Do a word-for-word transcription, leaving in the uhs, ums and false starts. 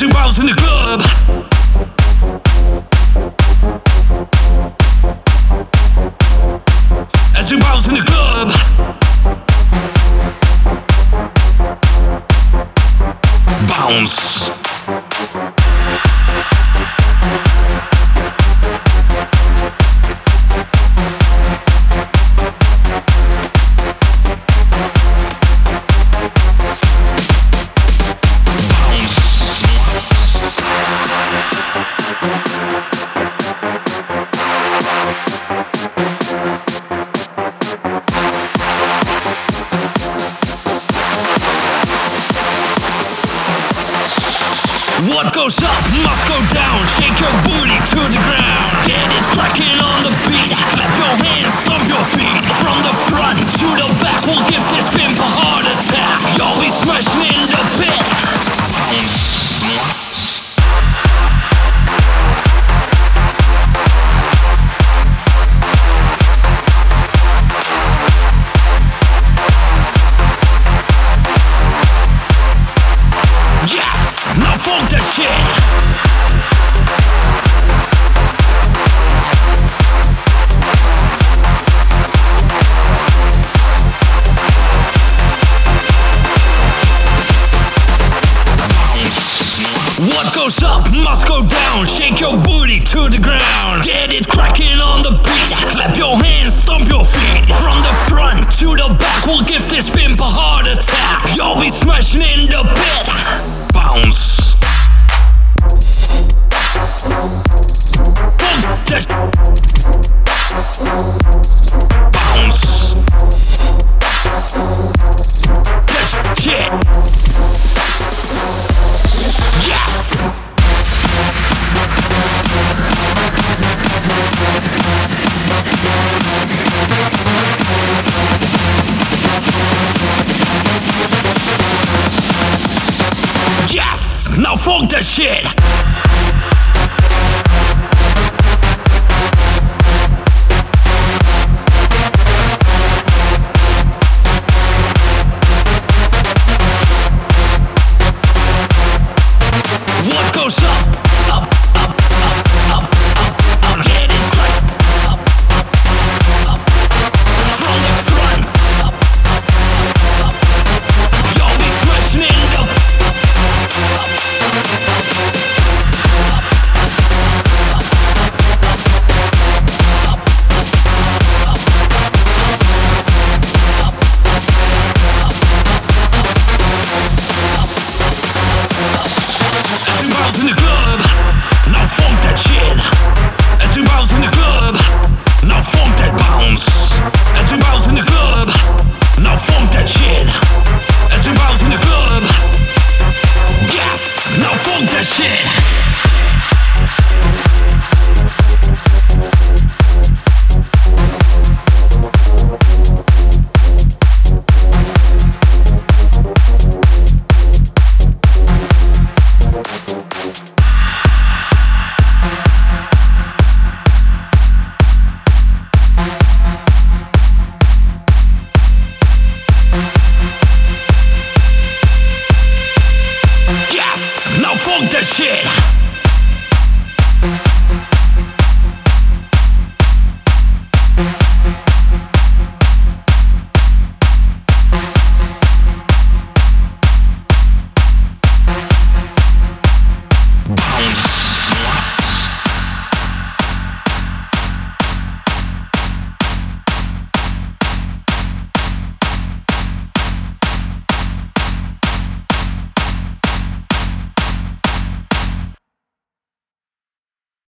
we bounce in the club. As we bounce in the club. Bounce. What goes up must go down. Shake your booty to the ground. Get it cracking on the beat. Clap your hands, stomp your feet. From the front to the back, we'll give this pimp a heart attack. You'll be smashing in the pit. Yes! Now funk that shit! What goes up must go down. Shake your booty to the ground. Get it cracking on the beat. Clap your hands, stomp your feet. From the front to the back, we'll give this pimp a heart attack. You'll be smashing in the pit. Bounce. Funk that. Bounce. That shit. Yes! Yes! Now funk that shit! What goes up, up, up, up, up, up, up, get it right. Up, up, up, from the front. Up, up, up, up, you'll be smashing in the. Up, up, in the club, now funk that shit. As we bounce in the club, now funk that bounce. As we bounce in the club, now funk that shit. As we bounce in the club, yes, now funk that shit. Yes, now funk that shit.